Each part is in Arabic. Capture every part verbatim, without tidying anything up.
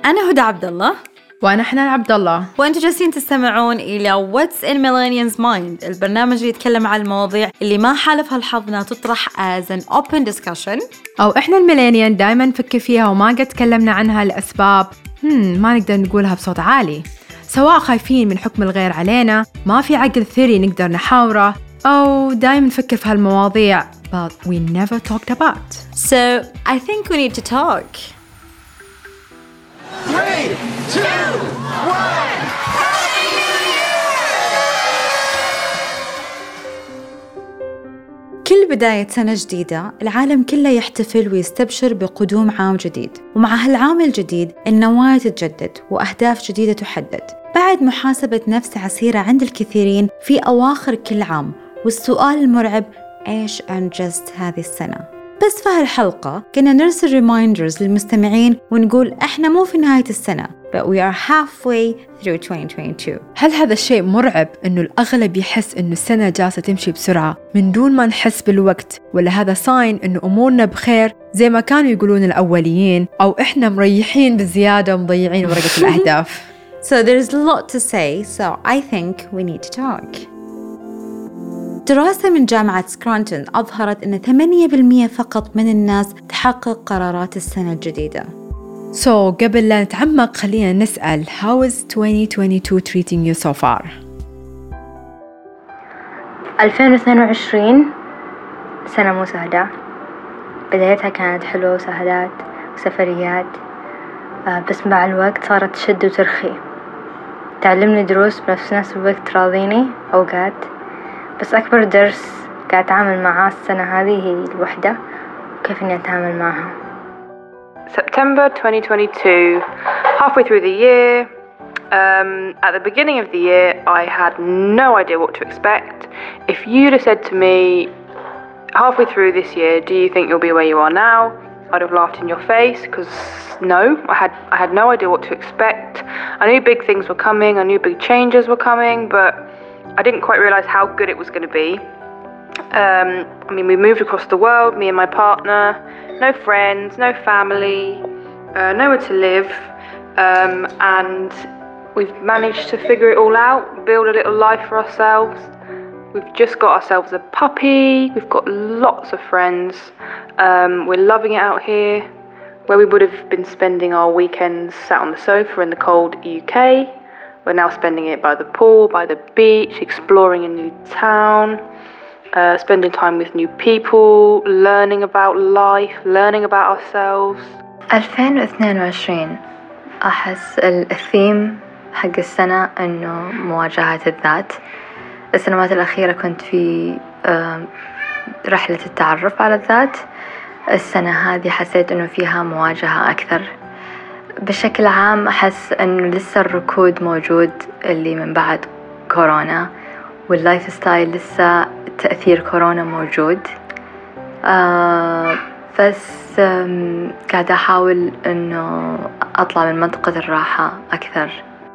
أنا هدى عبد الله وأنا حنان عبد الله، وأنتوا جالسين تستمعون إلى What's in Millennials Mind، البرنامج اللي يتكلم عن المواضيع اللي ما حالفها الحظ إنها تطرح as an open discussion، أو إحنا الميلينيال دائما نفكر فيها وما قد تكلمنا عنها لأسباب هم ما نقدر نقولها بصوت عالي، سواء خايفين من حكم الغير علينا، ما في عقل ثري نقدر نحاوره، أو دائما نفكر في هالمواضيع but we never talked about. So I think we need to talk. Three, two, one. كل بداية سنة جديدة العالم كله يحتفل ويستبشر بقدوم عام جديد، ومع هالعام الجديد النوايا تتجدد وأهداف جديدة تحدد بعد محاسبة نفس عسيرة عند الكثيرين في أواخر كل عام، والسؤال المرعب إيش أنجزت هذه السنة؟ بس في هالحلقة كنا نرسل ريمايندرز للمستمعين ونقول إحنا مو في نهاية السنة but we are halfway through twenty twenty-two. هل هذا الشيء مرعب إنه الأغلب يحس إنه السنة جالسة تمشي بسرعة من دون ما نحس بالوقت، ولا هذا ساين إنه أمورنا بخير زي ما كانوا يقولون الأوليين، أو إحنا مريحين بزيادة ومضيعين ورقة الأهداف؟ So there's a lot to say, so I think we need to talk. دراسة من جامعة سكرانتون أظهرت أن ثمانية بالمئة فقط من الناس تحقق قرارات السنة الجديدة. So قبل لا نتعمق خلينا نسأل How is twenty twenty-two treating you so far؟ ألفين واثنين وعشرين سنة مو سهلة، بدايتها كانت حلوة وسهلات وسفريات، بس مع الوقت صارت تشد وترخي، تعلمني دروس بنفس نفس الوقت تراضيني أوقات، بس أكبر درس قاعد أتعامل معاه السنة هذه هي الوحدة وكيف إني أتعامل معها. September twenty twenty-two, halfway through the year. Um, at the beginning of the year, I had no idea what to expect. If you'd have said to me, halfway through this year, do you think you'll be where you are now? I'd have laughed in your face, because no, I had I had no idea what to expect. I knew big things were coming, I knew big changes were coming, but I didn't quite realise how good it was going to be. Um, I mean, we moved across the world, me and my partner, no friends, no family, uh, nowhere to live, um, and we've managed to figure it all out, build a little life for ourselves. We've just got ourselves a puppy, we've got lots of friends, um, we're loving it out here. Where we would have been spending our weekends sat on the sofa in the cold U K, we're now spending it by the pool, by the beach, exploring a new town, uh, spending time with new people, learning about life, learning about ourselves. ألفين واثنين وعشرين أحس الثيم حق السنة إنه مواجهة الذات. السنوات الأخيرة كنت في رحلة التعرف على الذات، السنة هذه حسيت إنه فيها مواجهة أكثر. بشكل عام أحس إنه لسه الركود موجود اللي من بعد كورونا، واللايف ستايل لسه تأثير كورونا موجود، آه بس قاعدة أحاول إنه أطلع من منطقة الراحة أكثر.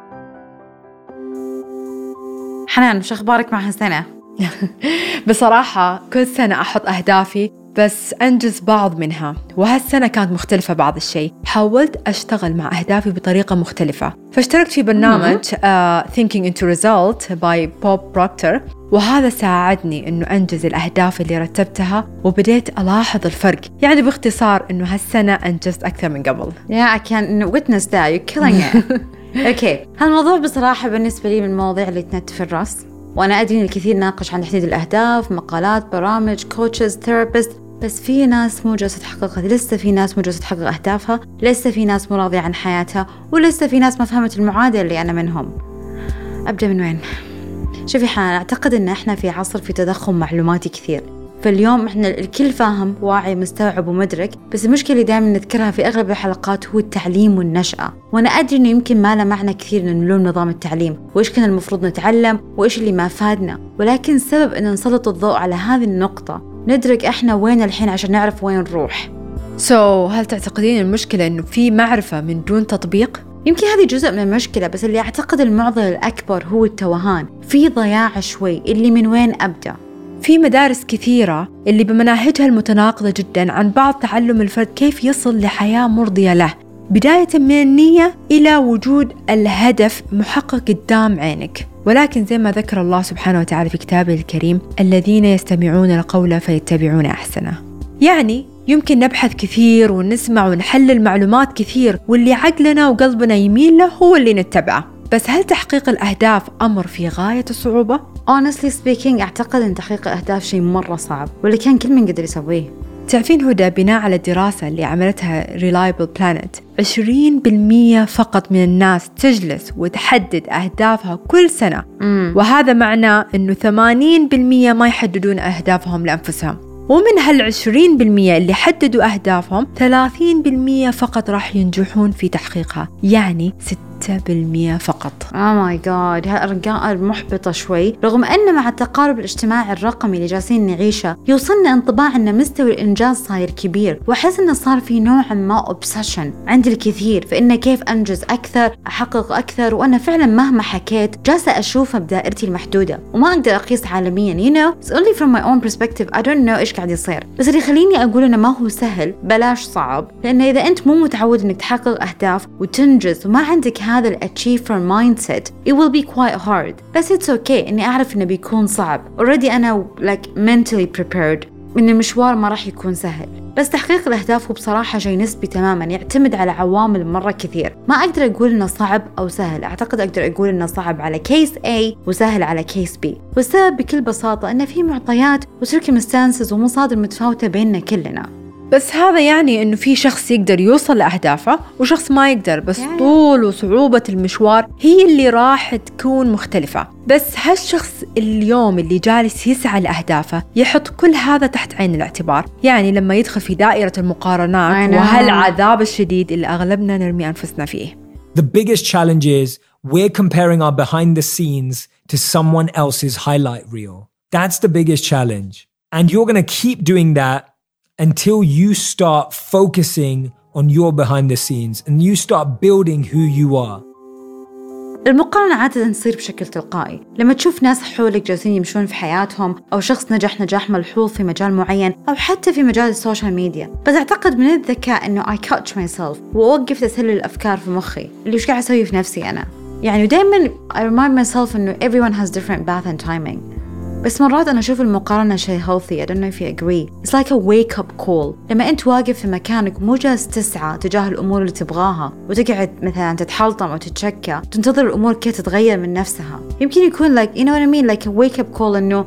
حنان، وش أخبارك مع هالسنة؟ بصراحة كل سنة أحط أهدافي بس أنجز بعض منها، وهالسنة كانت مختلفة بعض الشيء. حاولت أشتغل مع أهدافي بطريقة مختلفة، فاشتركت في برنامج uh, Thinking into Result by Bob Proctor، وهذا ساعدني إنه أنجز الأهداف اللي رتبتها، وبديت ألاحظ الفرق. يعني باختصار إنه هالسنة أنجزت أكثر من قبل. Yeah, I can witness that. You're killing it. أوكي، هالموضوع بصراحة بالنسبة لي من المواضيع اللي تنت في الرأس، وأنا أدري إن الكثير ناقش عن تحديد الأهداف، مقالات، برامج، كوتشز، ثيرابيست، بس في ناس مو جالسة تحققها، لسه في ناس مو جالسة تحقق أهدافها، لسه في ناس مو راضية عن حياتها، ولسه في ناس ما فهمت المعادلة اللي أنا منهم. أبدأ من وين؟ شوفي حنان، أعتقد إن إحنا في عصر في تضخم معلوماتي كثير، فاليوم إحنا الكل فاهم، واعي، مستوعب ومدرك، بس المشكلة اللي دائما نذكرها في أغلب الحلقات هو التعليم والنشأة. وأنا أدري إنه يمكن ما له معنى كثير إنه نلوم نظام التعليم وإيش كنا المفروض نتعلم وإيش اللي ما فادنا، ولكن السبب إن نسلط الضوء على هذه النقطة، ندرك إحنا وين الحين عشان نعرف وين نروح. So هل تعتقدين المشكلة إنه في معرفة من دون تطبيق؟ يمكن هذه جزء من المشكلة، بس اللي أعتقد المعضلة الأكبر هو التوهان، في ضياع شوي اللي من وين أبدأ. في مدارس كثيرة اللي بمناهجها المتناقضة جدا عن بعض تعلم الفرد كيف يصل لحياة مرضية له، بداية من النية إلى وجود الهدف محقق قدام عينك. ولكن زي ما ذكر الله سبحانه وتعالى في كتابه الكريم: الذين يستمعون القول فيتبعون أحسنه. يعني يمكن نبحث كثير ونسمع ونحلل معلومات كثير، واللي عقلنا وقلبنا يميل له هو اللي نتبعه. بس هل تحقيق الأهداف أمر في غاية الصعوبة؟ Honestly speaking أعتقد أن تحقيق الأهداف شيء مرة صعب، واللي كان كل من قدر يسويه. تعرفين هدى، بناء على الدراسة اللي عملتها Reliable Planet، عشرين بالمية فقط من الناس تجلس وتحدد أهدافها كل سنة. مم. وهذا معناه أنه ثمانين بالمية ما يحددون أهدافهم لأنفسهم. ومن هالعشرين بالمية اللي حددوا أهدافهم، ثلاثين بالمية فقط راح ينجحون في تحقيقها، يعني ستة بالمية فقط. Oh my god، هالأرقام محبطة شوي، رغم أن مع التقارب الاجتماعي الرقمي اللي جالسين نعيشه يوصلنا انطباع أن مستوى الإنجاز صاير كبير، وأحس أنه صار في نوع ما obsession عند الكثير في أنه كيف أنجز أكثر، أحقق أكثر. وأنا فعلا مهما حكيت جالسة أشوفها بدائرتي المحدودة وما أقدر أقيس عالميا. you know it's only from my own perspective. I don't know إيش قاعد يصير، بس اللي يخليني أقول إنه ما هو سهل بلاش صعب، لأن إذا أنت مو متعود إنك تحقق أهداف وتنجز وما عندك هذا الأتشيفر mindset it will be quite hard. بس it's okay إني أعرف إنه بيكون صعب. already أنا like mentally prepared إن المشوار ما راح يكون سهل. بس تحقيق الأهداف هو بصراحة شيء نسبي تماماً، يعتمد على عوامل مرة كثير. ما أقدر أقول إنه صعب أو سهل، أعتقد أقدر أقول إنه صعب على كيس A وسهل على كيس B. والسبب بكل بساطة إنه في معطيات وcircumstances ومصادر متفاوتة بيننا كلنا. بس هذا يعني إنه في شخص يقدر يوصل لأهدافه وشخص ما يقدر، بس yeah. طول وصعوبة المشوار هي اللي راح تكون مختلفة. بس هالشخص اليوم اللي جالس يسعى لأهدافه يحط كل هذا تحت عين الاعتبار. يعني لما يدخل في دائرة المقارنات وهالعذاب الشديد اللي أغلبنا نرمي أنفسنا فيه. The biggest challenge is we're comparing our behind the scenes to someone else's highlight reel. That's the biggest challenge. And you're going to keep doing that until you start focusing on your behind the scenes and you start building who you are. المقارنة عادة تصير بشكل تلقائي لما تشوف ناس حولك جالسين يمشون في حياتهم، أو شخص نجح نجاح ملحوظ في مجال معين، أو حتى في مجال السوشيال ميديا. بس أعتقد من الذكاء إنه I catch myself وأوقف تسلل الأفكار في مخي اللي وش قاعد أسوي في نفسي أنا. يعني دايماً I remind myself إنه everyone has different path and timing. بس مرات أنا أشوف المقارنة شيء healthy. I don't know if you agree. It's like a wake up call. لما أنت واقف في مكانك مو جالس تسعى تجاه الأمور اللي تبغاها وتقعد مثلا تتحلطم أو تتشكى تنتظر الأمور كي تتغير من نفسها. يمكن يكون like you know what I mean like a wake up call إنه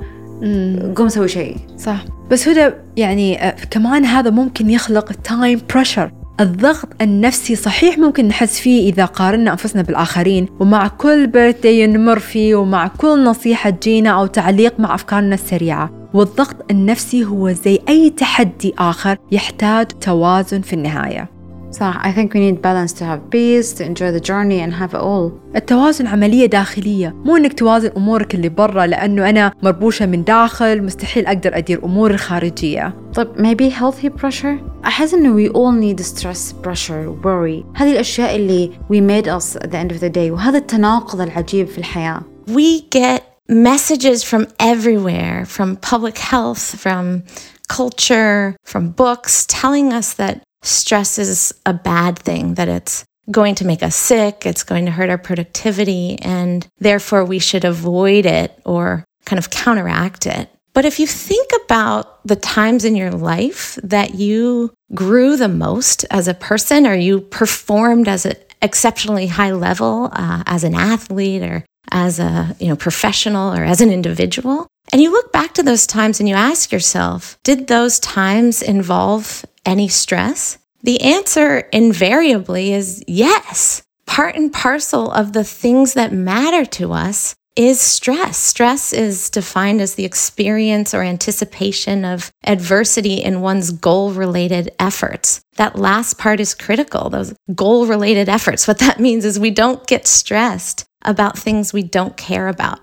قوم سوي شيء. صح. بس هذا يعني كمان هذا ممكن يخلق time pressure. الضغط النفسي صحيح ممكن نحس فيه إذا قارنا أنفسنا بالآخرين، ومع كل birthday نمر فيه، ومع كل نصيحة تجينا أو تعليق مع أفكارنا السريعة. والضغط النفسي هو زي أي تحدي آخر يحتاج توازن في النهاية. صح. I think we need balance to have peace, to enjoy the journey and have it all. التوازن عملية داخلية، مو إنك توازن أمورك اللي برا، لأنه أنا مربوشة من داخل مستحيل أقدر أدير أموري الخارجية. طيب maybe healthy pressure؟ أحس إنه we all need stress, pressure, worry. هذه الأشياء اللي we made us at the end of the day، وهذا التناقض العجيب في الحياة. We get messages from everywhere, from public health, from culture, from books, telling us that stress is a bad thing, that it's going to make us sick, it's going to hurt our productivity, and therefore we should avoid it or kind of counteract it. But if you think about the times in your life that you grew the most as a person, or you performed as an exceptionally high level uh, as an athlete or as a you know professional or as an individual, and you look back to those times and you ask yourself, did those times involve any stress? The answer invariably is yes. Part and parcel of the things that matter to us is stress. Stress is defined as the experience or anticipation of adversity in one's goal-related efforts. That last part is critical, those goal-related efforts. What that means is we don't get stressed about things we don't care about.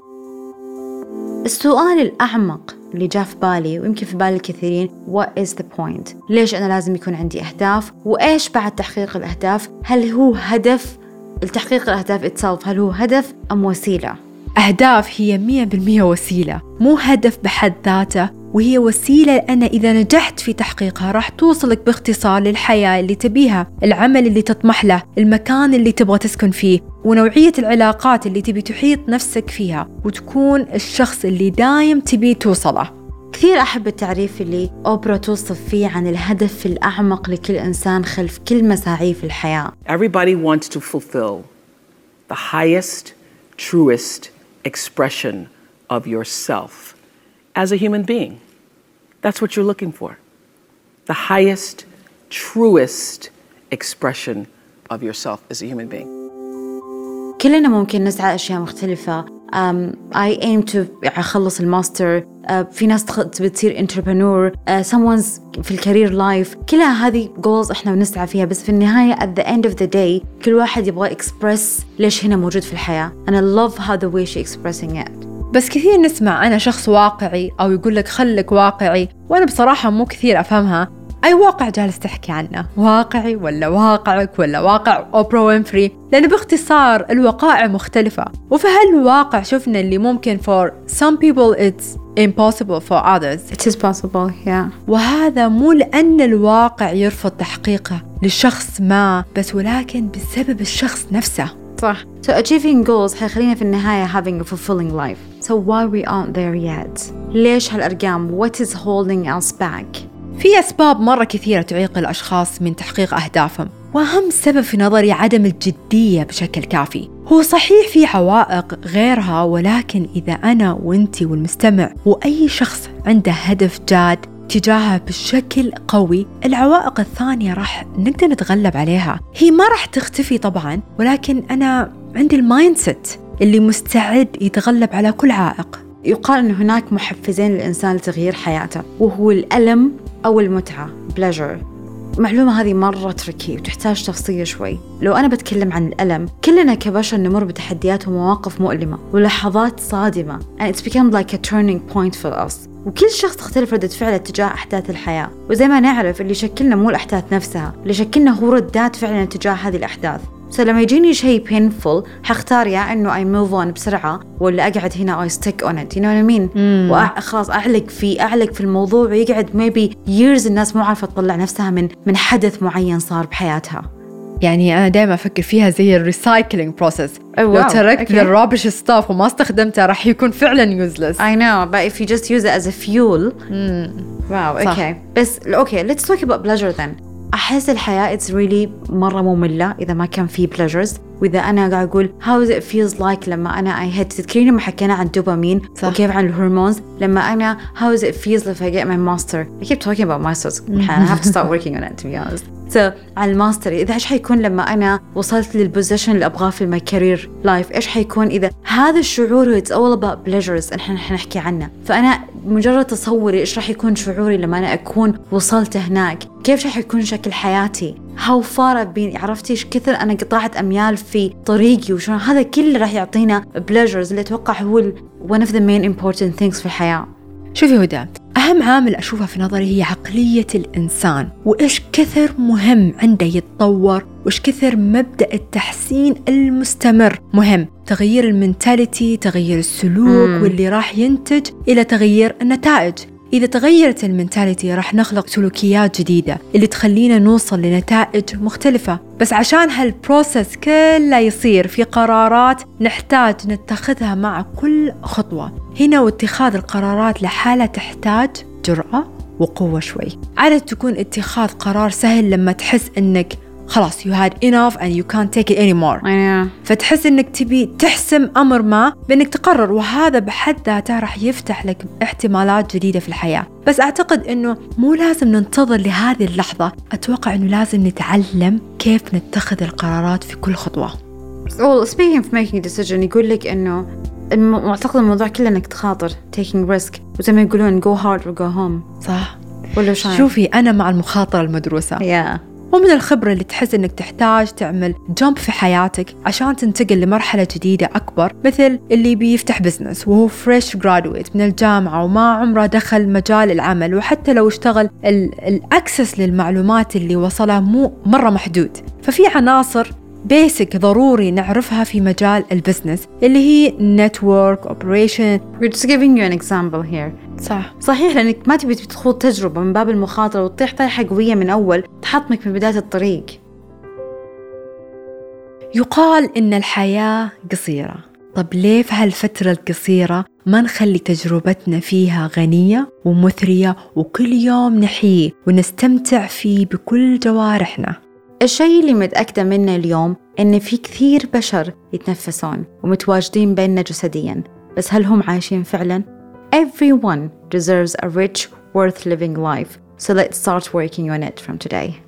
السؤال الأعمق اللي جاء في بالي ويمكن في بال الكثيرين what is the point؟ ليش أنا لازم يكون عندي أهداف؟ وإيش بعد تحقيق الأهداف؟ هل هو هدف التحقيق الأهداف itself؟ هل هو هدف أم وسيلة؟ أهداف هي مية بالمية وسيلة، مو هدف بحد ذاته، وهي وسيلة أنا إذا نجحت في تحقيقها راح توصلك باختصار للحياة اللي تبيها، العمل اللي تطمح له، المكان اللي تبغى تسكن فيه، ونوعية العلاقات اللي تبي تحيط نفسك فيها، وتكون الشخص اللي دايم تبي توصله. كثير أحب التعريف اللي أوبرا توصف فيه عن الهدف الأعمق لكل إنسان خلف كل مساعيه في الحياة. Everybody wants to fulfill the highest, truest expression of yourself as a human being. That's what you're looking for. The highest, truest expression of yourself as a human being. كلنا ممكن نسعى أشياء مختلفة. Um, I aim to أخلص الماستر. Uh, في ناس تبي تصير entrepreneur. Uh, someone's في الكارير لايف. كلها هذه goals إحنا بنسعى فيها، بس في النهاية at the end of the day كل واحد يبغى express ليش هنا موجود في الحياة. And I love how the way she expressing it. بس كثير نسمع أنا شخص واقعي أو يقول لك خلك واقعي، وأنا بصراحة مو كثير أفهمها. أي واقع جالس تحكي عنه؟ واقعي ولا واقعك ولا واقع أوبرا وينفري؟ لأن باختصار الوقائع مختلفة، وفي هالواقع شفنا اللي ممكن for some people it's impossible for others. It is possible, yeah. وهذا مو لأن الواقع يرفض تحقيقه لشخص ما، بس ولكن بسبب الشخص نفسه. صح. So achieving goals حيخلينا في النهاية having a fulfilling life. So why we aren't there yet? ليش هالأرقام؟ What is holding us back? في أسباب مرة كثيرة تعيق الأشخاص من تحقيق أهدافهم، وأهم سبب في نظري عدم الجدية بشكل كافي. هو صحيح في عوائق غيرها، ولكن إذا أنا وإنتي والمستمع وأي شخص عنده هدف جاد تجاهه بشكل قوي، العوائق الثانية راح نقدر نتغلب عليها. هي ما راح تختفي طبعاً، ولكن أنا عندي المايندسيت اللي مستعد يتغلب على كل عائق. يقال أن هناك محفزين للإنسان لتغيير حياته، وهو الألم أو المتعة pleasure. المعلومة هذه مرة تركي وتحتاج تفصيل شوي. لو أنا بتكلم عن الألم، كلنا كبشر نمر بتحديات ومواقف مؤلمة ولحظات صادمة and it's become like a turning point for us. وكل شخص تختلف ردة فعله تجاه أحداث الحياة، وزي ما نعرف اللي شكلنا مو الأحداث نفسها، اللي شكلنا هو ردات فعلنا تجاه هذه الأحداث. فلما يجيني شيء painful حختار يا إنه I move on بسرعة، ولا أقعد هنا I stick on it, you know what I mean؟ وخلاص أعلق فيه أعلق في الموضوع ويقعد maybe years الناس مو عارفة تطلع نفسها من من حدث معين صار بحياتها. يعني أنا دائما أفكر فيها زي الريسايكلينج بروسيس. oh, wow. لو تركت okay. الرابش ستاف وما استخدمته راح يكون فعلا useless. I know, but if you just use it as a fuel. mm. wow, صح. okay. بس okay, let's talk about pleasure then. أحس الحياة it's really مرة مملة إذا ما كان فيه pleasures. وإذا أنا قاعد أقول how it feels like لما أنا I had تذكرين لما حكينا عن الدوبامين وكيف عن الهرمونز، لما أنا how it feels if I get my master. I keep talking about masters. I have to start working on it to be honest. So على الماستر إذا إيش حيكون لما أنا وصلت للبوزيشن اللي أبغاه في my career life، إيش حيكون إذا هذا الشعور it's all about pleasures إحنا حنحكي عنه. فأنا مجرد تصوري إيش راح يكون شعوري لما أنا أكون وصلت هناك، كيف راح يكون شكل حياتي، how far I've been، عرفتي إيش كثر أنا قطعت أميال في طريقي وشون، هذا كله راح يعطينا pleasures اللي أتوقع هو one of the main important things في الحياة. شوفي هدى، أهم عامل أشوفها في نظري هي عقلية الإنسان، وإيش كثر مهم عنده يتطور، وإيش كثر مبدأ التحسين المستمر مهم، تغيير المنتاليتي، تغيير السلوك مم. واللي راح ينتج إلى تغيير النتائج. إذا تغيرت المنتاليتي راح نخلق سلوكيات جديدة اللي تخلينا نوصل لنتائج مختلفة. بس عشان هالبروسس كله يصير في قرارات نحتاج نتخذها مع كل خطوة. هنا واتخاذ القرارات لحالة تحتاج جرأة وقوة شوي. عادة تكون اتخاذ قرار سهل لما تحس إنك خلاص you had enough and you can't take it anymore. أيوة. فتحس إنك تبي تحسم أمر ما بإنك تقرر، وهذا بحد ذاته راح يفتح لك احتمالات جديدة في الحياة. بس أعتقد إنه مو لازم ننتظر لهذه اللحظة، أتوقع إنه لازم نتعلم كيف نتخذ القرارات في كل خطوة. Well, speaking of making a decision، يقول لك إنه معتقد الموضوع كله إنك تخاطر taking risk، وزي ما يقولون go hard or go home. صح ولا شايف؟ شوفي أنا مع المخاطرة المدروسة. yeah. ومن الخبرة اللي تحس إنك تحتاج تعمل جمب في حياتك عشان تنتقل لمرحلة جديدة أكبر، مثل اللي بيفتح بزنس وهو فريش جرادويت من الجامعة وما عمره دخل مجال العمل، وحتى لو اشتغل الأكسس للمعلومات اللي وصلها مو مرة محدود. ففي عناصر بيسك ضروري نعرفها في مجال البزنس اللي هي network operation. We're just giving you an example here. صح صحيح، لأنك ما تبي تخوض تجربة من باب المخاطرة وتطيح طيحة قوية من أول تحطمك من بداية الطريق. يقال إن الحياة قصيرة. طب ليه في هالفترة القصيرة ما نخلي تجربتنا فيها غنية ومثرية وكل يوم نحيي ونستمتع فيه بكل جوارحنا؟ الشيء اللي متأكدة منه اليوم إن في كثير بشر يتنفسون ومتواجدين بيننا جسدياً، بس هل هم عايشين فعلاً؟ Everyone deserves a rich, worth living life. So let's start working on it from today.